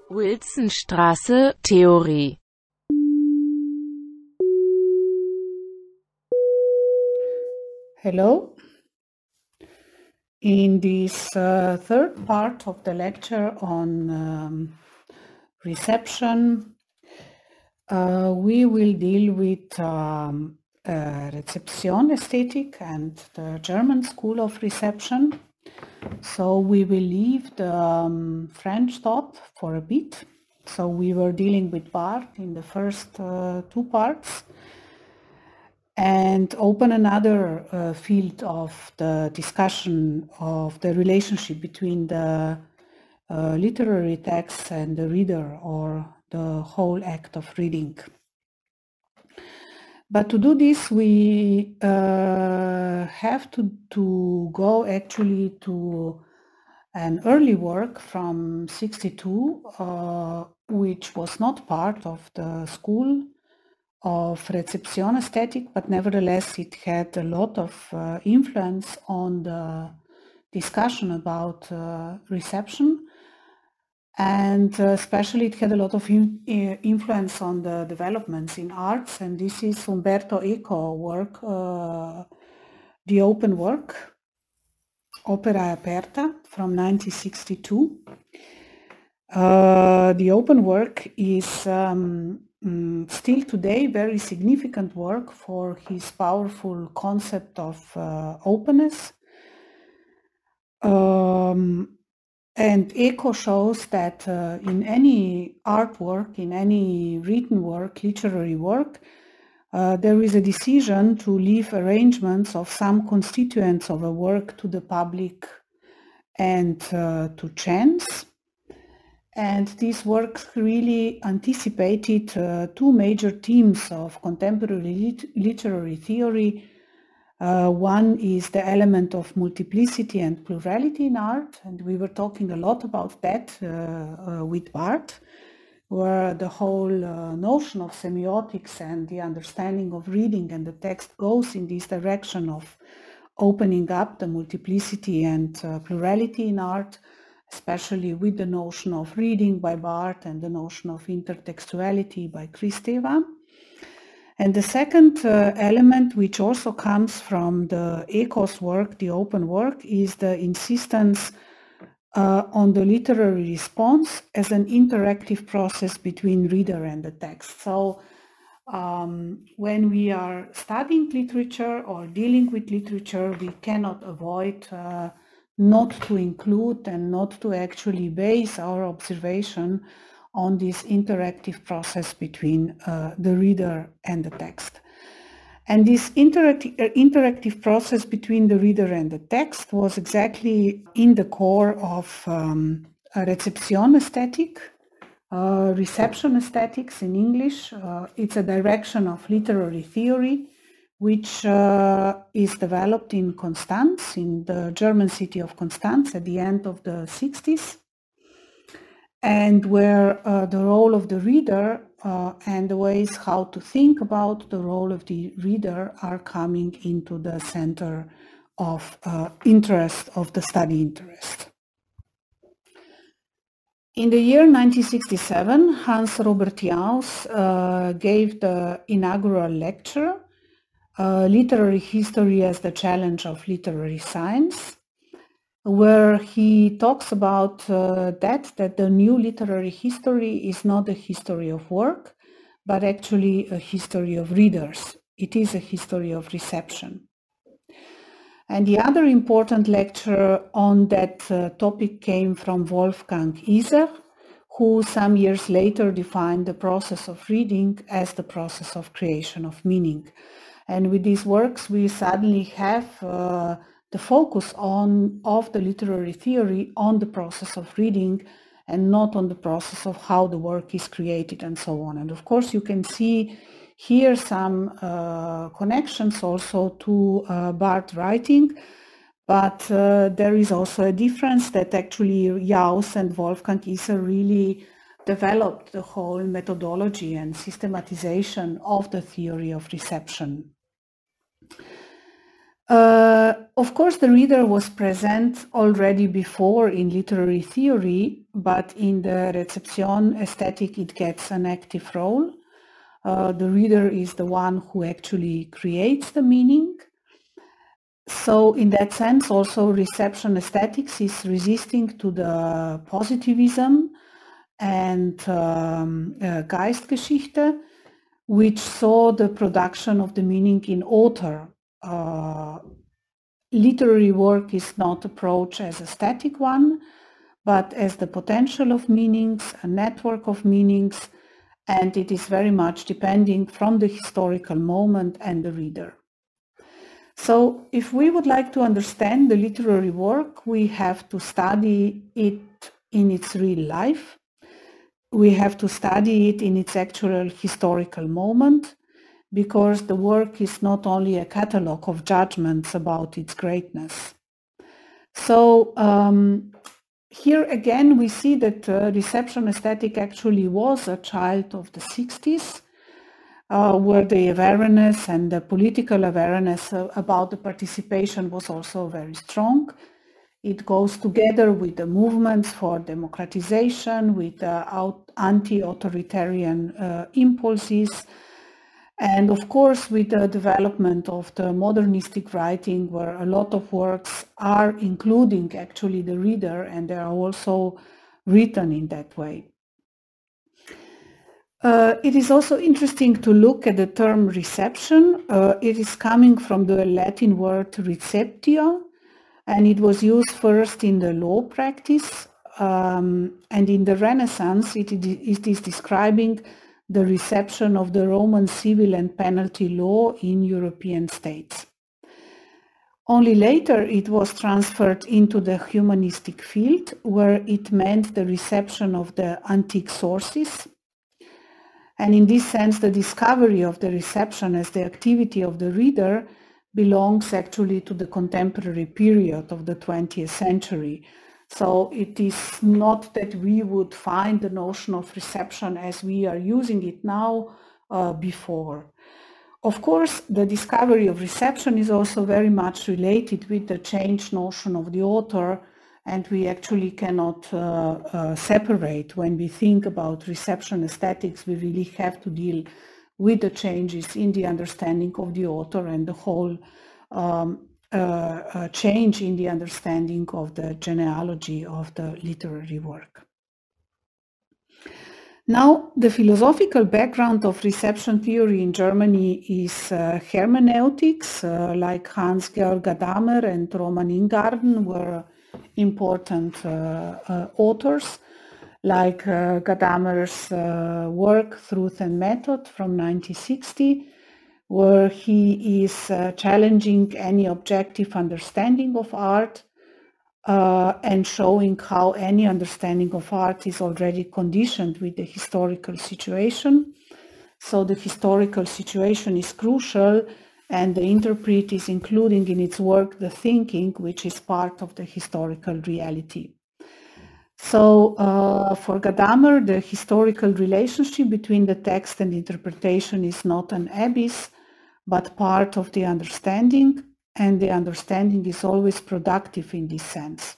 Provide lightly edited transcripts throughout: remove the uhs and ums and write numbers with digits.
Wilsonstraße, Theorie. Hello. In this third part of the lecture on reception, we will deal with reception aesthetic and the German school of reception. So we will leave the French thought for a bit. So we were dealing with Barthes in the first two parts, and open another field of the discussion of the relationship between the literary text and the reader, or the whole act of reading. But to do this, we have to go actually to an early work from 62, which was not part of the school of reception aesthetic, but nevertheless it had a lot of influence on the discussion about reception, and especially it had a lot of influence on the developments in arts, and this is Umberto Eco work, The Open Work, Opera Aperta from 1962. The Open Work is still today very significant work for his powerful concept of openness. And Eco shows that in any artwork, in any written work, literary work, there is a decision to leave arrangements of some constituents of a work to the public and to chance. And these works really anticipated two major themes of contemporary literary theory. One is the element of multiplicity and plurality in art, and we were talking a lot about that with Barthes, where the whole notion of semiotics and the understanding of reading and the text goes in this direction of opening up the multiplicity and plurality in art, especially with the notion of reading by Barthes and the notion of intertextuality by Kristeva. And the second element, which also comes from the Eco's work, The Open Work, is the insistence on the literary response as an interactive process between reader and the text. So when we are studying literature or dealing with literature, we cannot avoid not to include and not to actually base our observation on this interactive process between the reader and the text. And this interactive process between the reader and the text was exactly in the core of reception aesthetic, reception aesthetics in English. It's a direction of literary theory which is developed in Constance, in the German city of Constance at the end of the 60s, and where the role of the reader and the ways how to think about the role of the reader are coming into the center of interest, of the study interest. In the year 1967, Hans Robert Jauss gave the inaugural lecture, Literary History as the Challenge of Literary Science, where he talks about that the new literary history is not a history of work, but actually a history of readers. It is a history of reception. And the other important lecture on that topic came from Wolfgang Iser, who some years later defined the process of reading as the process of creation of meaning. And with these works, we suddenly have the focus of the literary theory on the process of reading and not on the process of how the work is created and so on. And of course, you can see here some connections also to Barthes writing, but there is also a difference that actually Jauss and Wolfgang Iser really developed the whole methodology and systematization of the theory of reception. Of course, the reader was present already before in literary theory, but in the reception aesthetic, it gets an active role. The reader is the one who actually creates the meaning. So in that sense, also reception aesthetics is resisting to the positivism and Geistgeschichte, which saw the production of the meaning in author. Literary work is not approached as a static one, but as the potential of meanings, a network of meanings, and it is very much depending from the historical moment and the reader. So if we would like to understand the literary work, we have to study it in its real life. We have to study it in its actual historical moment, because the work is not only a catalogue of judgments about its greatness. So here again, we see that reception aesthetic actually was a child of the 60s, where the awareness and the political awareness about the participation was also very strong. It goes together with the movements for democratization, with anti-authoritarian impulses, and of course with the development of the modernistic writing, where a lot of works are including actually the reader, and they are also written in that way. It is also interesting to look at the term reception. It is coming from the Latin word receptio, and it was used first in the law practice, and in the Renaissance it is describing the reception of the Roman civil and penalty law in European states. Only later it was transferred into the humanistic field, where it meant the reception of the antique sources. And in this sense, the discovery of the reception as the activity of the reader belongs actually to the contemporary period of the 20th century. So it is not that we would find the notion of reception as we are using it now before. Of course, the discovery of reception is also very much related with the changed notion of the author, and we actually cannot separate. When we think about reception aesthetics, we really have to deal with the changes in the understanding of the author and the whole change in the understanding of the genealogy of the literary work. Now, the philosophical background of reception theory in Germany is hermeneutics, like Hans-Georg Gadamer and Roman Ingarden were important authors, like Gadamer's work Truth and Method from 1960, where he is challenging any objective understanding of art and showing how any understanding of art is already conditioned with the historical situation. So the historical situation is crucial, and the interpret is including in its work the thinking, which is part of the historical reality. So for Gadamer, the historical relationship between the text and interpretation is not an abyss, but part of the understanding, and the understanding is always productive in this sense.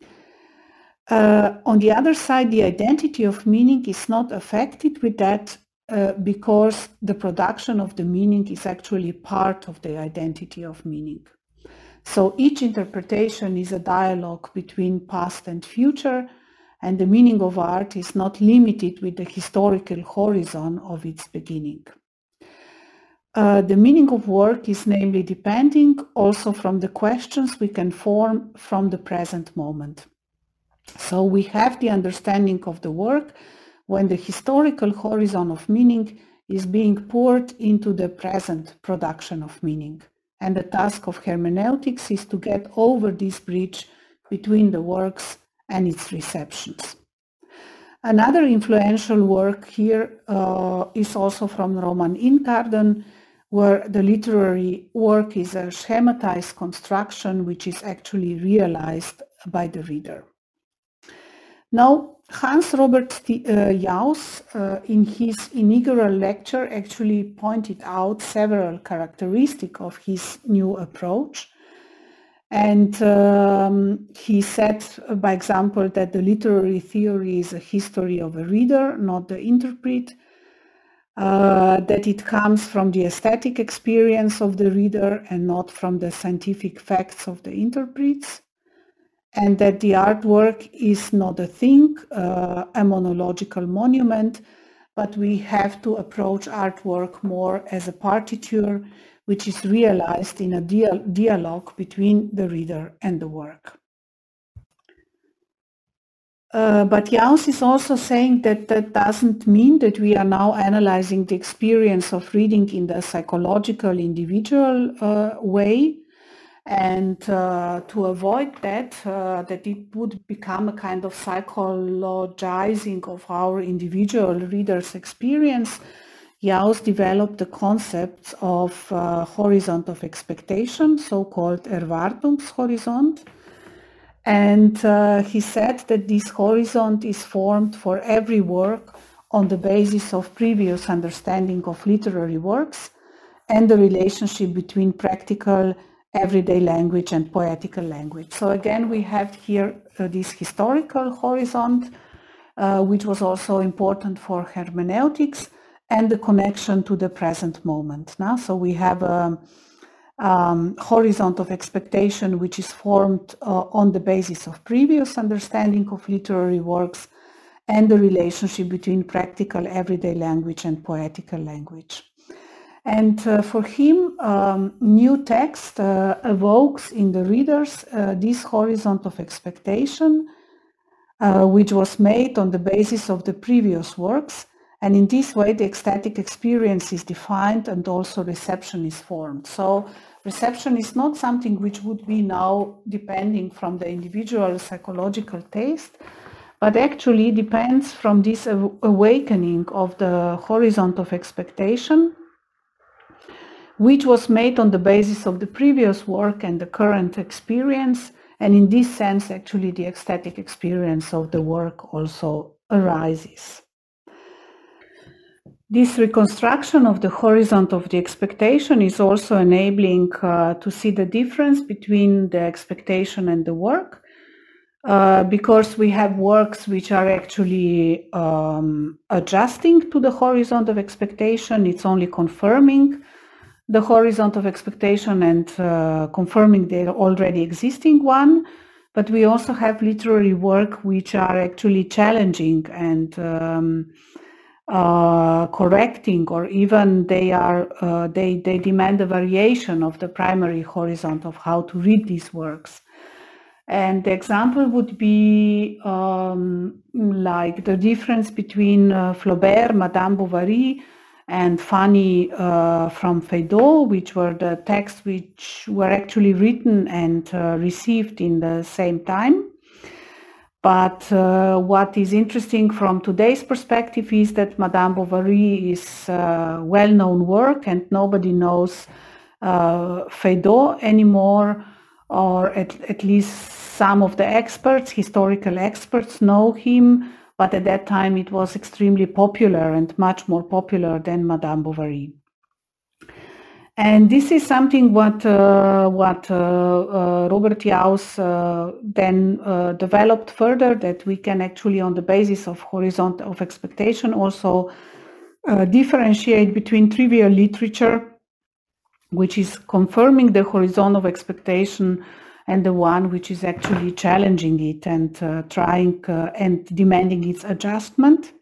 On the other side, the identity of meaning is not affected with that because the production of the meaning is actually part of the identity of meaning. So each interpretation is a dialogue between past and future, and the meaning of art is not limited with the historical horizon of its beginning. The meaning of work is namely depending also from the questions we can form from the present moment. So we have the understanding of the work when the historical horizon of meaning is being poured into the present production of meaning. And the task of hermeneutics is to get over this bridge between the works and its receptions. Another influential work here is also from Roman Ingarden, where the literary work is a schematized construction which is actually realized by the reader. Now, Hans Robert Jauss, in his inaugural lecture, actually pointed out several characteristics of his new approach. And he said, by example, that the literary theory is a history of a reader, not the interpret, that it comes from the aesthetic experience of the reader and not from the scientific facts of the interprets, and that the artwork is not a thing, a monological monument, but we have to approach artwork more as a partiture, which is realized in a dialogue between the reader and the work. But Jauss is also saying that that doesn't mean that we are now analyzing the experience of reading in the psychological, individual way. And to avoid that, that it would become a kind of psychologizing of our individual reader's experience, Jauss developed the concepts of horizon of expectation, so-called Erwartungshorizont. And he said that this horizon is formed for every work on the basis of previous understanding of literary works and the relationship between practical everyday language and poetical language. So again, we have here this historical horizon, which was also important for hermeneutics, and the connection to the present moment. Now, so we have a horizon of expectation, which is formed on the basis of previous understanding of literary works and the relationship between practical everyday language and poetical language. And for him, new text evokes in the readers this horizon of expectation, which was made on the basis of the previous works. And in this way, the ecstatic experience is defined and also reception is formed. So reception is not something which would be now depending from the individual psychological taste, but actually depends from this awakening of the horizon of expectation, which was made on the basis of the previous work and the current experience. And in this sense, actually, the ecstatic experience of the work also arises. This reconstruction of the horizon of the expectation is also enabling to see the difference between the expectation and the work, because we have works which are actually adjusting to the horizon of expectation. It's only confirming the horizon of expectation and confirming the already existing one. But we also have literary work which are actually challenging and correcting, or even they demand a variation of the primary horizon of how to read these works. And the example would be like the difference between Flaubert, Madame Bovary, and Fanny from Feydeau, which were the texts which were actually written and received in the same time. But what is interesting from today's perspective is that Madame Bovary is a well-known work and nobody knows Feydeau anymore, or at least some of the experts, historical experts, know him. But at that time, it was extremely popular and much more popular than Madame Bovary. And this is something what Robert Jauss then developed further, that we can actually, on the basis of horizon of expectation, also differentiate between trivial literature, which is confirming the horizon of expectation, and the one which is actually challenging it and trying and demanding its adjustment.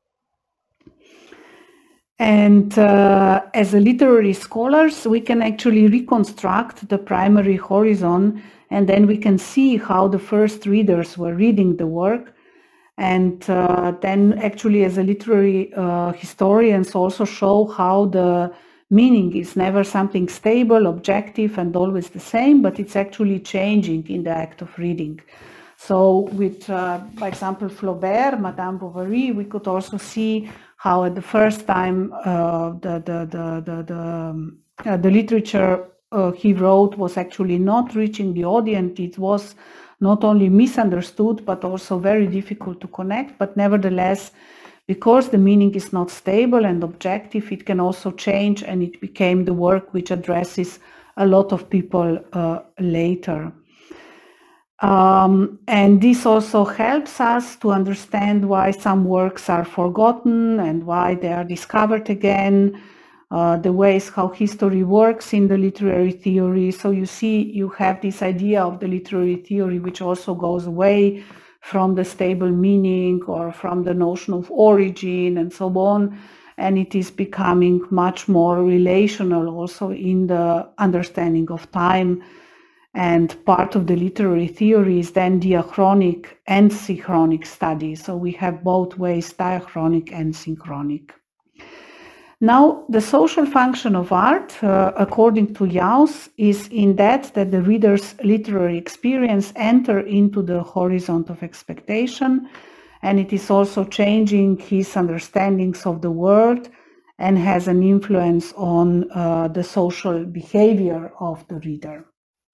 And as a literary scholars, we can actually reconstruct the primary horizon, and then we can see how the first readers were reading the work. And then actually as a literary historians also show how the meaning is never something stable, objective, and always the same, but it's actually changing in the act of reading. So with, by example, Flaubert, Madame Bovary, we could also see how at the first time the literature he wrote was actually not reaching the audience. It was not only misunderstood, but also very difficult to connect. But nevertheless, because the meaning is not stable and objective, it can also change, and it became the work which addresses a lot of people later. And this also helps us to understand why some works are forgotten and why they are discovered again, the ways how history works in the literary theory. So you see, you have this idea of the literary theory, which also goes away from the stable meaning or from the notion of origin and so on. And it is becoming much more relational also in the understanding of time. And part of the literary theory is then diachronic and synchronic study. So we have both ways, diachronic and synchronic. Now, the social function of art, according to Jauss, is in that the reader's literary experience enter into the horizon of expectation, and it is also changing his understandings of the world and has an influence on the social behavior of the reader.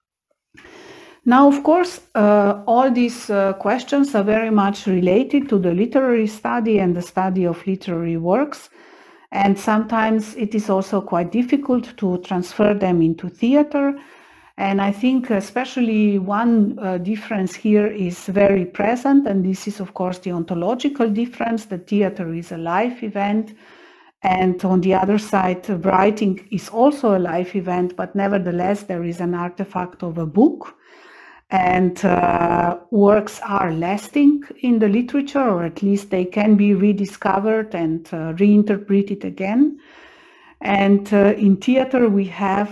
Now, of course, all these questions are very much related to the literary study and the study of literary works. And sometimes it is also quite difficult to transfer them into theater. And I think especially one difference here is very present, and this is, of course, the ontological difference. The theater is a live event. And on the other side, writing is also a live event, but nevertheless, there is an artifact of a book. And works are lasting in the literature, or at least they can be rediscovered and reinterpreted again. And in theater, we have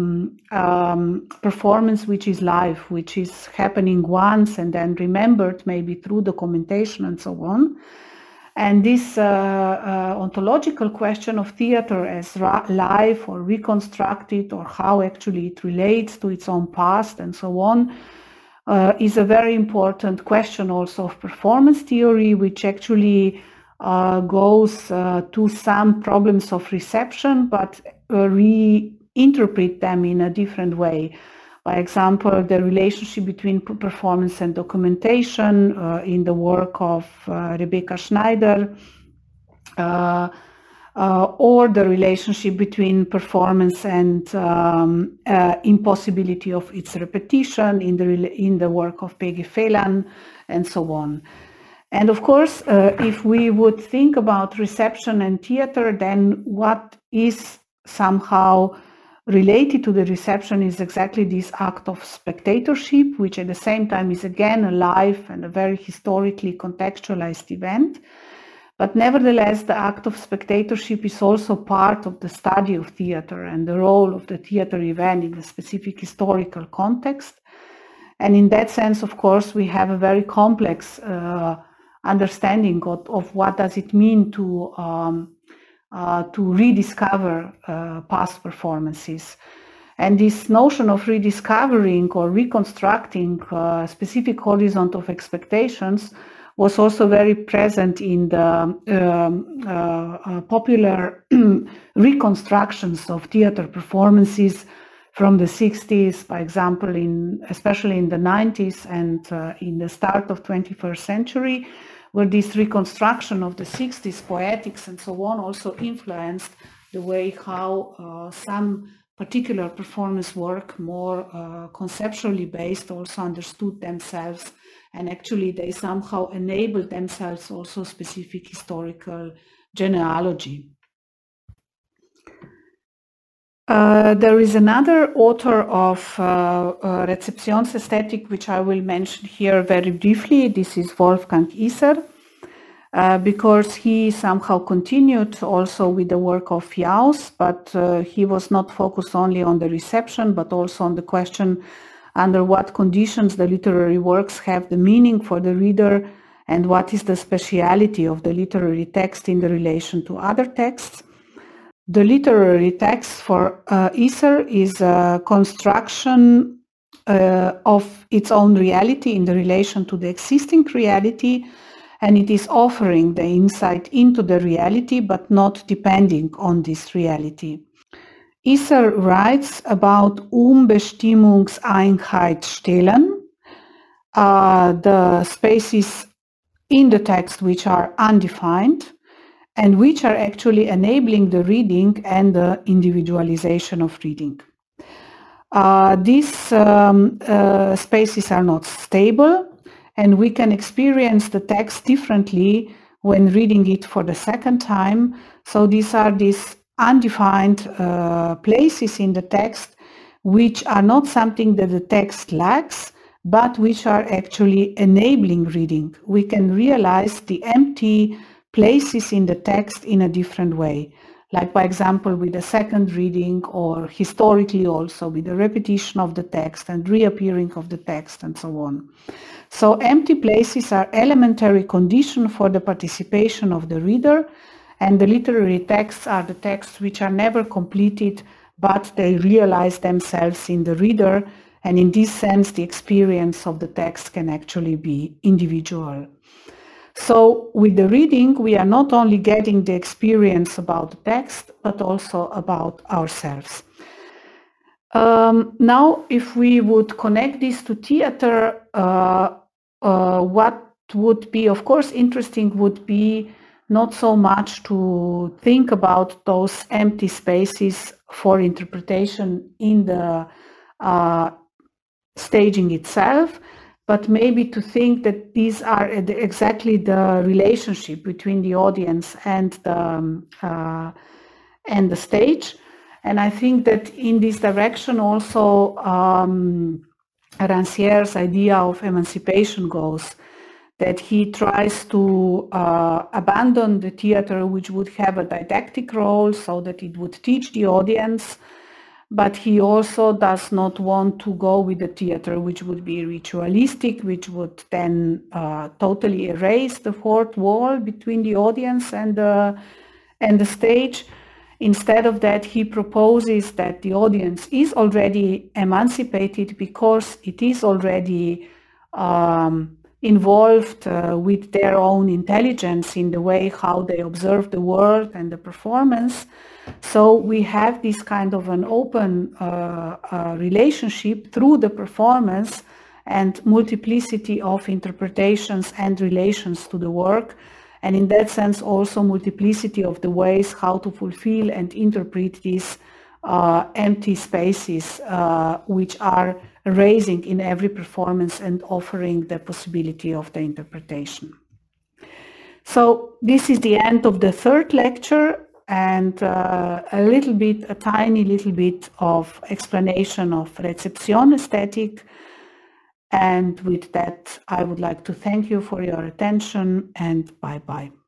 performance which is live, which is happening once and then remembered maybe through documentation and so on. And this ontological question of theater as live or reconstructed, or how actually it relates to its own past and so on, is a very important question also of performance theory, which actually goes to some problems of reception, but reinterpret them in a different way. By example, the relationship between performance and documentation in the work of Rebecca Schneider, or the relationship between performance and impossibility of its repetition in the work of Peggy Phelan, and so on. And of course, if we would think about reception and theater, then what is somehow related to the reception is exactly this act of spectatorship, which at the same time is again a live and a very historically contextualized event. But nevertheless, the act of spectatorship is also part of the study of theater and the role of the theater event in a specific historical context. And in that sense, of course, we have a very complex understanding of what does it mean to rediscover past performances. And this notion of rediscovering or reconstructing a specific horizon of expectations was also very present in the popular reconstructions of theater performances from the 60s, for example, especially in the 90s and in the start of 21st century, where this reconstruction of the 60s poetics and so on also influenced the way how some particular performance work, more conceptually based, also understood themselves, and actually they somehow enabled themselves also specific historical genealogy. There is another author of Rezeptionsästhetik, which I will mention here very briefly. This is Wolfgang Iser, because he somehow continued also with the work of Jauss, but he was not focused only on the reception, but also on the question under what conditions the literary works have the meaning for the reader, and what is the speciality of the literary text in the relation to other texts. The literary text for Iser is a construction of its own reality in the relation to the existing reality, and it is offering the insight into the reality, but not depending on this reality. Iser writes about Bestimmungseinheit stellen, the spaces in the text which are undefined, and which are actually enabling the reading and the individualization of reading. these spaces are not stable, and we can experience the text differently when reading it for the second time. So these are these undefined places in the text which are not something that the text lacks, but which are actually enabling reading. We can realize the empty places in the text in a different way, like, by example, with a second reading, or historically also with the repetition of the text and reappearing of the text and so on. So empty places are elementary condition for the participation of the reader, and the literary texts are the texts which are never completed, but they realize themselves in the reader, and in this sense the experience of the text can actually be individual. So with the reading, we are not only getting the experience about the text, but also about ourselves. Now, if we would connect this to theater, what would be, of course, interesting would be not so much to think about those empty spaces for interpretation in the staging itself, but maybe to think that these are exactly the relationship between the audience and the stage. And I think that in this direction also Rancière's idea of emancipation goes, that he tries to abandon the theater which would have a didactic role so that it would teach the audience, but he also does not want to go with the theater which would be ritualistic, which would then totally erase the fourth wall between the audience and the stage. Instead of that, he proposes that the audience is already emancipated because it is already involved with their own intelligence in the way how they observe the world and the performance. So we have this kind of an open relationship through the performance and multiplicity of interpretations and relations to the work. And in that sense, also multiplicity of the ways how to fulfill and interpret these empty spaces, which are raising in every performance and offering the possibility of the interpretation. So this is the end of the third lecture, and a tiny little bit of explanation of reception aesthetic. And with that, I would like to thank you for your attention, and bye-bye.